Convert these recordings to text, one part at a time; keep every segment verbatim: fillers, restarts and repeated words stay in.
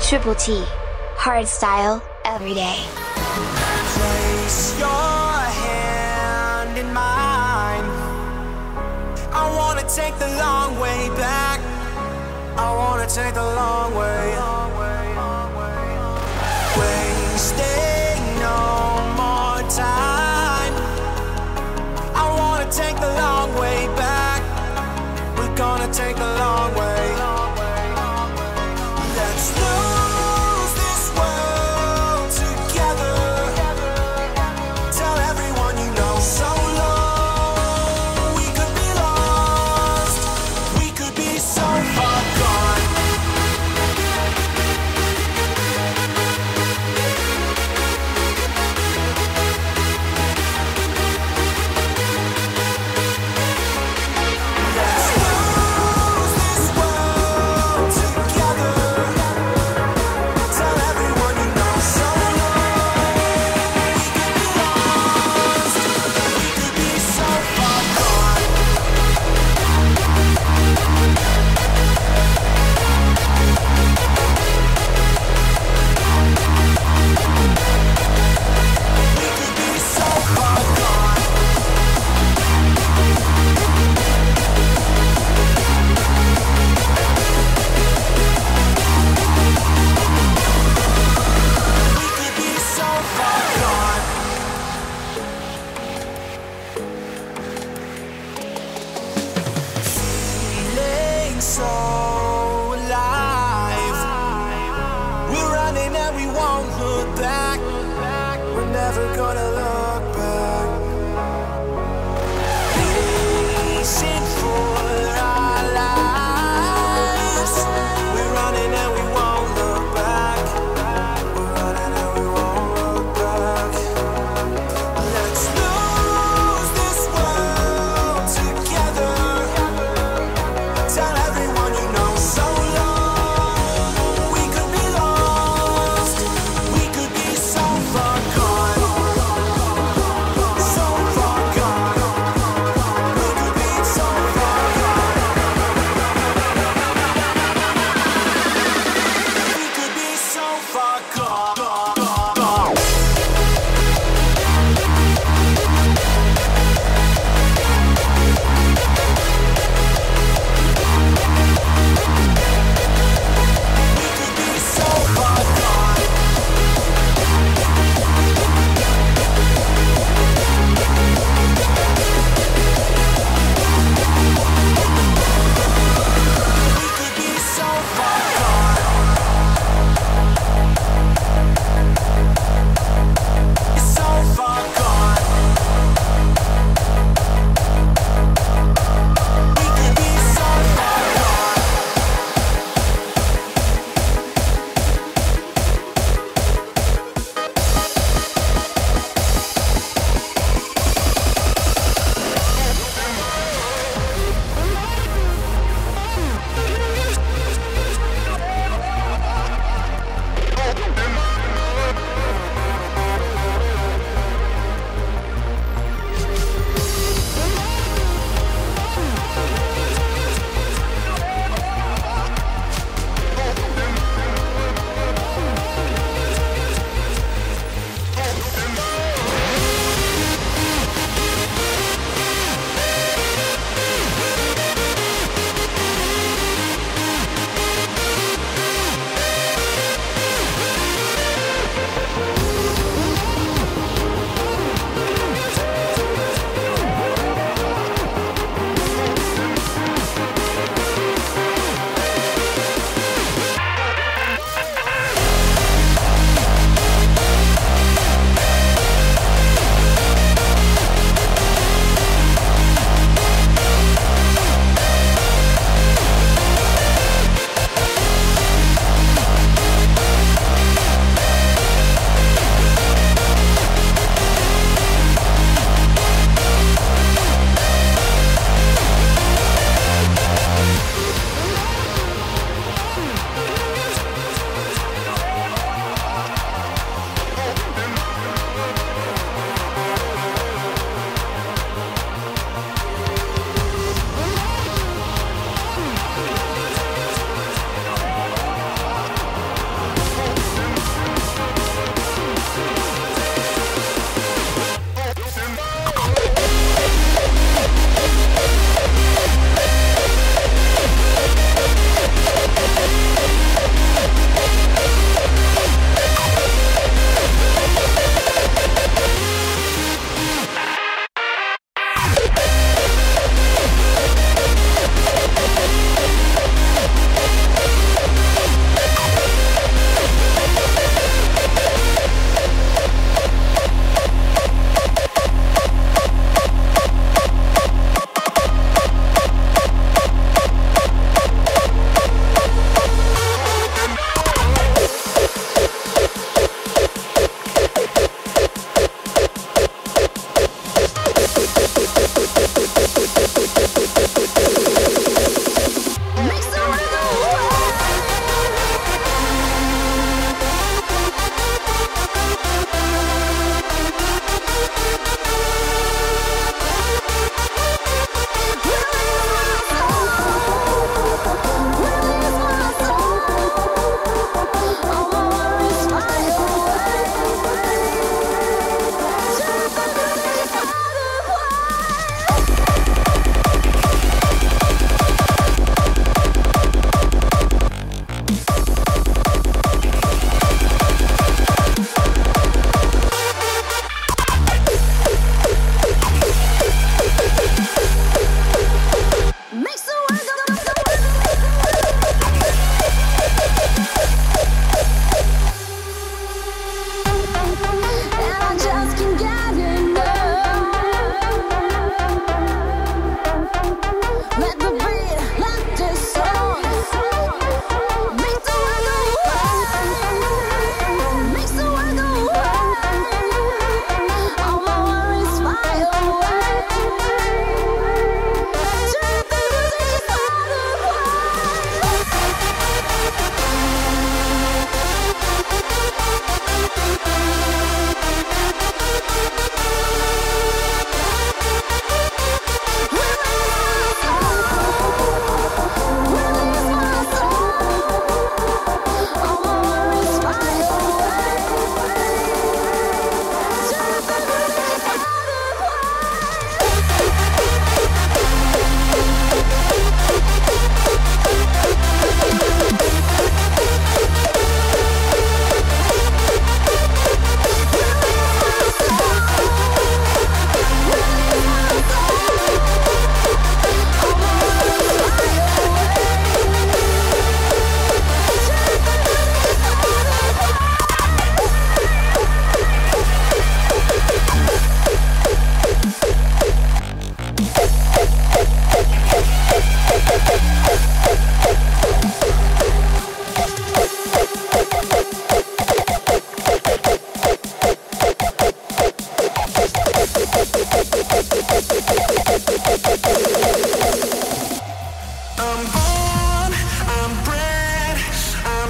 Triple T. Hardstyle, every day. Place your hand in mine. I wanna take the long way back. I wanna take the long way. Wasting no more time. I wanna take the long way back. We're gonna take the long way. Let's lose this world together. Tell everyone you know. So long we could be lost. We could be so far gone. Let's lose this world together. Tell everyone you know. So long we could be lost. We could be so far gone. We could be so far gone. We could be so far gone. Feeling so alive. We're running and we won't look back. We're never gonna look back. Racing for our lives. We're running and we won't look back. We're running and we won't look back. Let's lose this world together. Tell everyone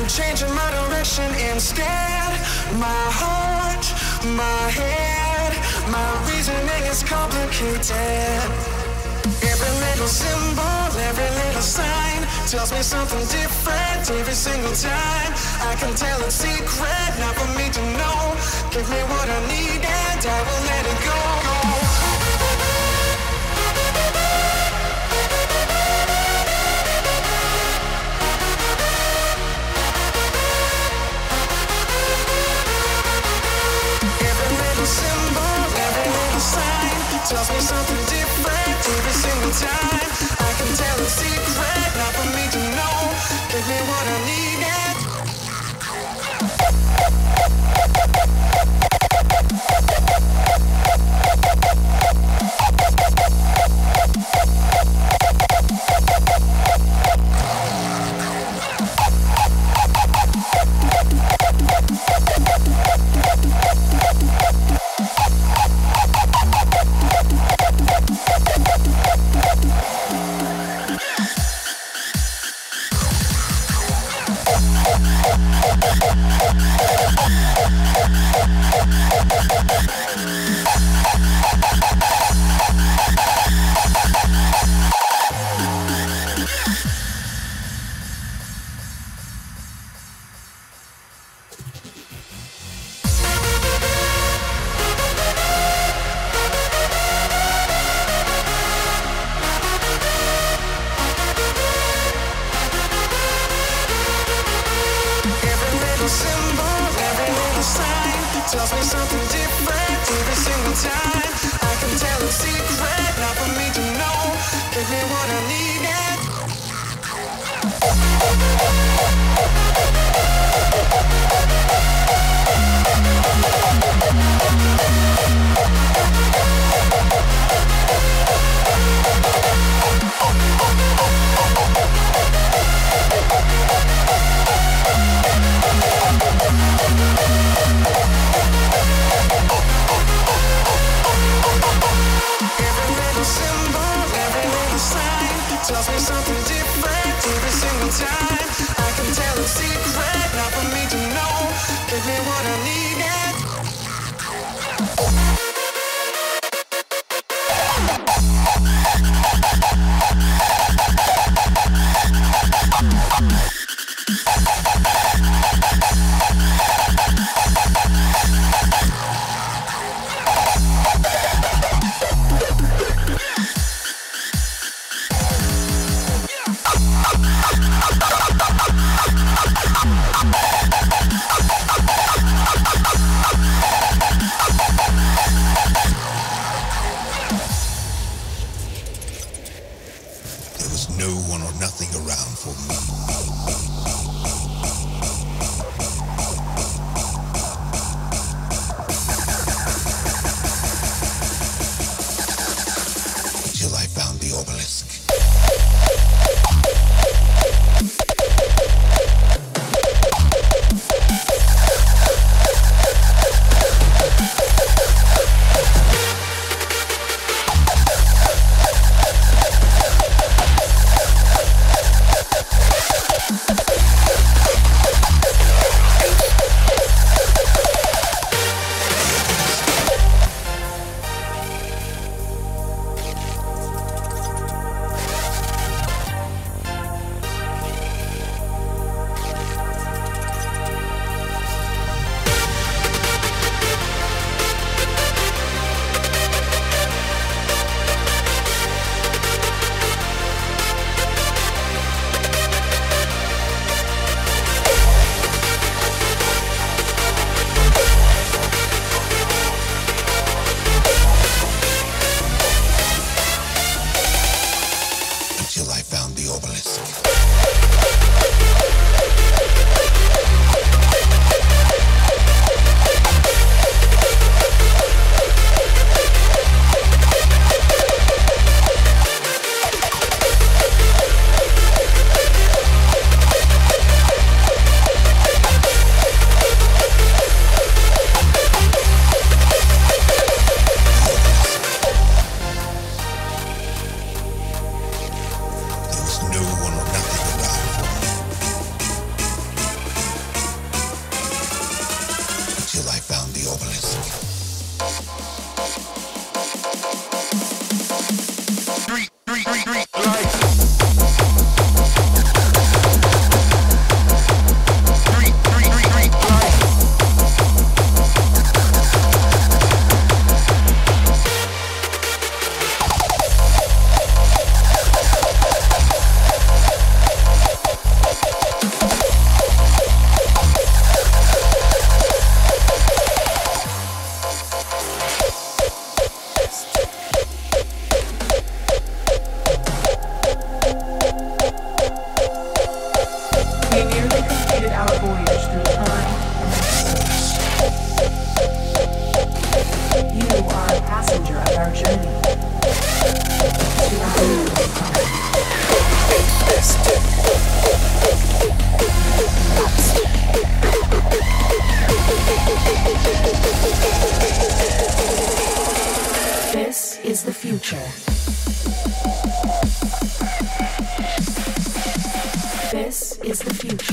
changing my direction instead. My heart, my head, my reasoning is complicated. Every little symbol, every little sign tells me something different every single time. I can tell it's secret, not for me to know. Give me what I need and I will let it go. Tells me something different every single time. I can tell it's secret, not for me to know. Give me what I need and tells me something different every single time. I can tell it's secret, not for me to know. Give me what I need and tells me something different every single time. I can tell it's secret, not for me to know. Give me what I need and no one or nothing. This is the future.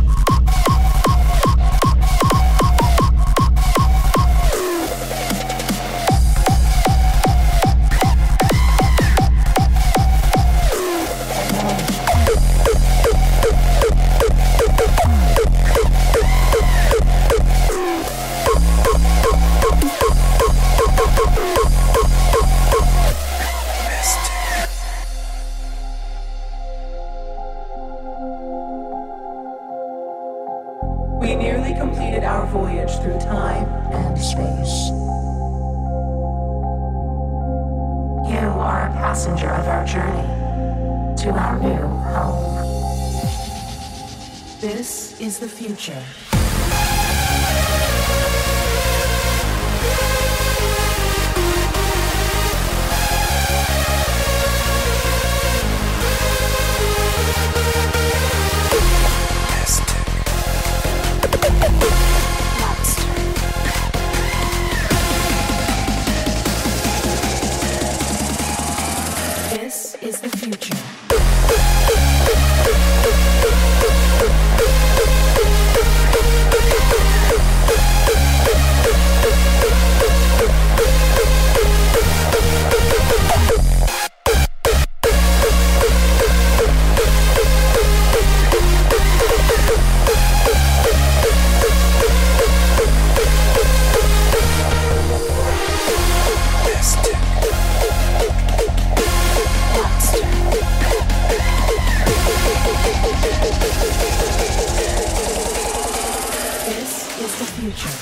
We nearly completed our voyage through time and space. You are a passenger of our journey to our new home. This is the future. This is the future. This is the future.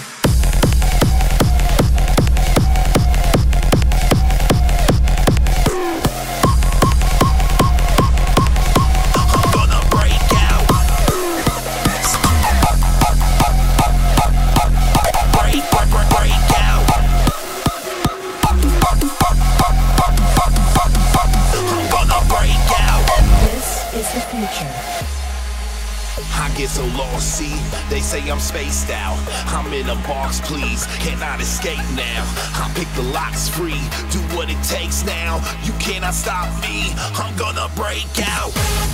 I get so lost, see, they say I'm spaced out. I'm in a box, please, cannot escape now. I pick the locks free, do what it takes now. You cannot stop me, I'm gonna break out.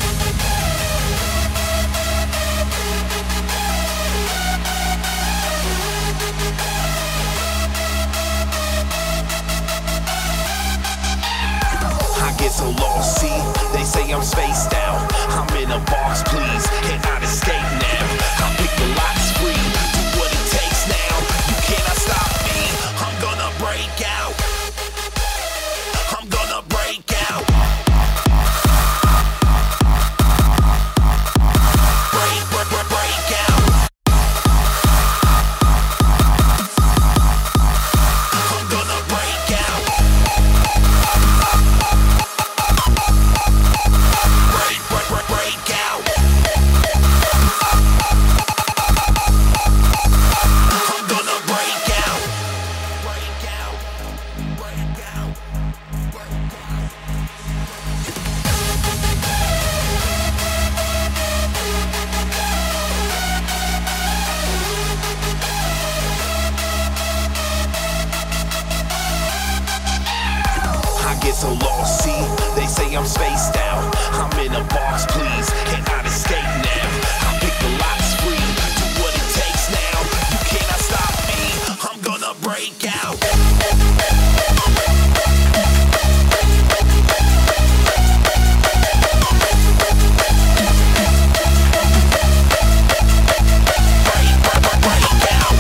I get so lost, see, they say I'm spaced out. I'm in a box, please, cannot escape now. I pick the locks free, do what it takes now. You cannot stop me, I'm gonna break out. I'm gonna break out. Break, break, break, break out. I'm gonna break out. Break, break, break, break out. I'm gonna break out. Break out. Break out. Break out. I get so lost, see, they say I'm spaced out. I'm in a box, please, cannot escape now. I pick the locks free, do what it takes now. You cannot stop me, I'm gonna break out. Break, break, break, break out.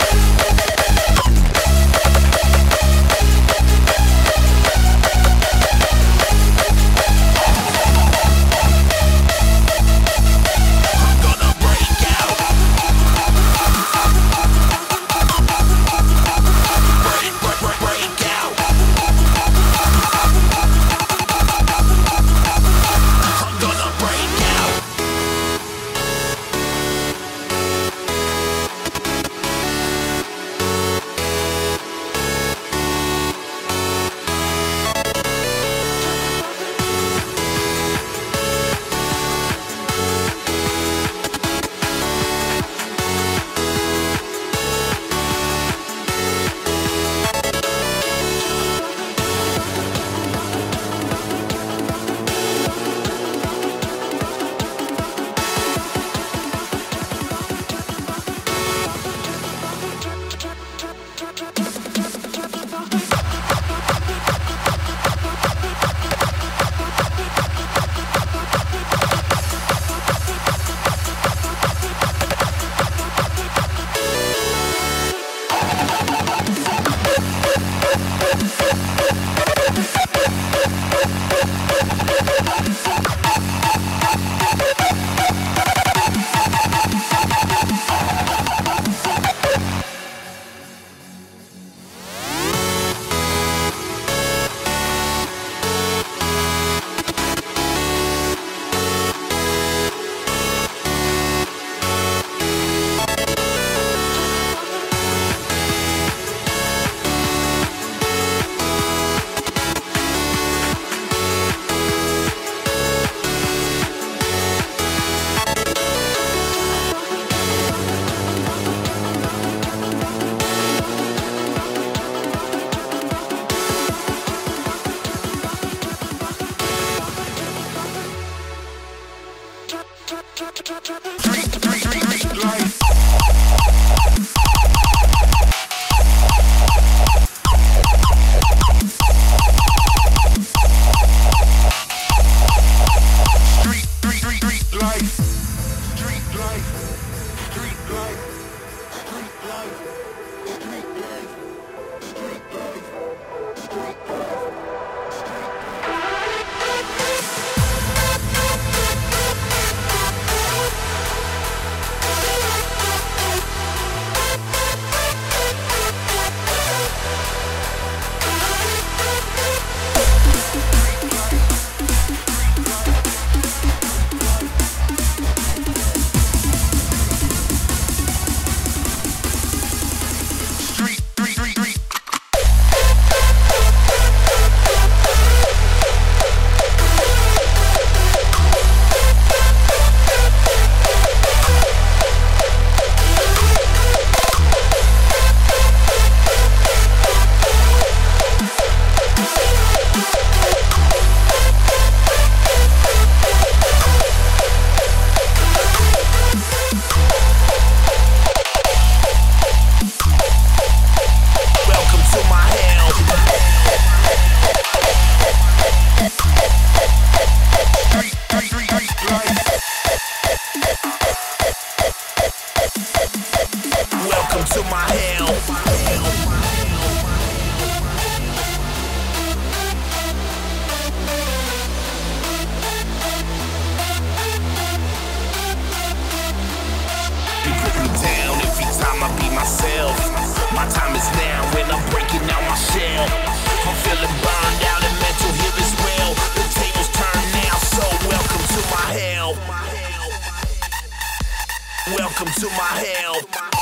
Welcome to my hell.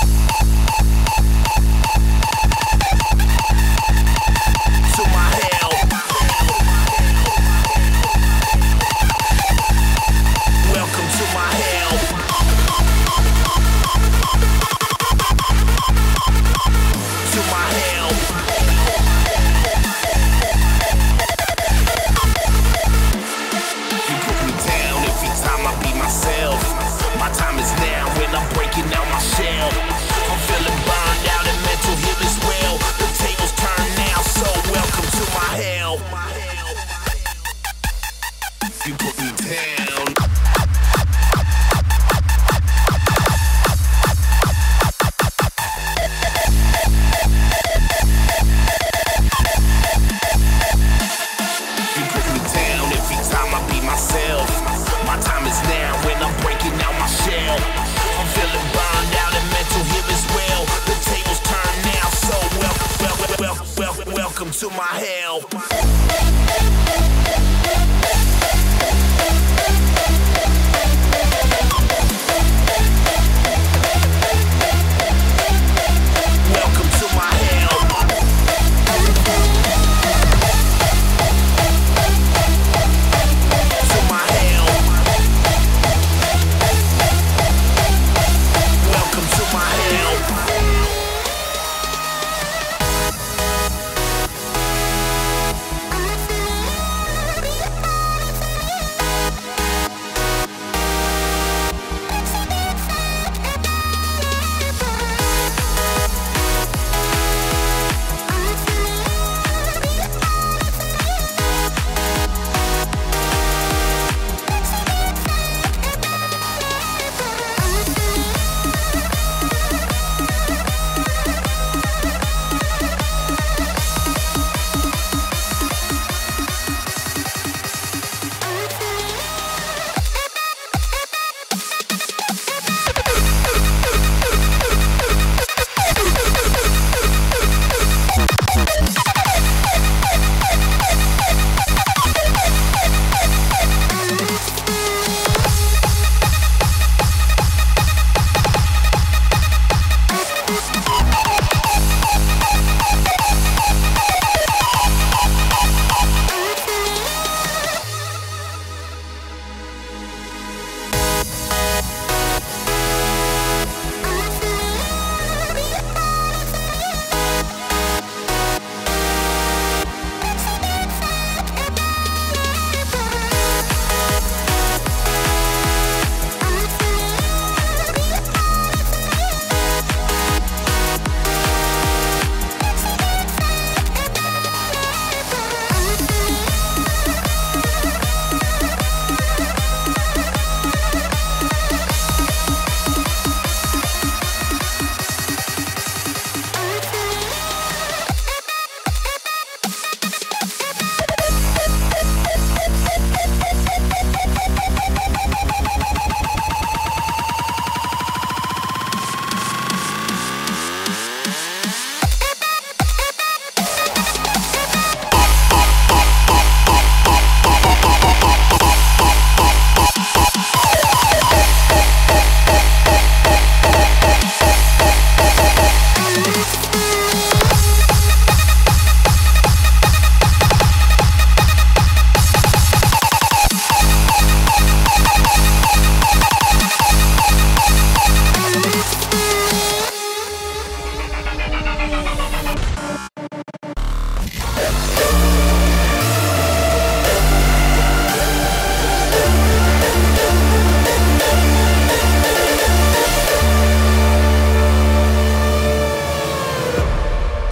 To my hell. Welcome to my hell. To my hell. You put me down every time I be myself. My time is now when I'm breaking out my shell.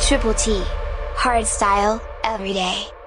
Triple T. Hardstyle, every day.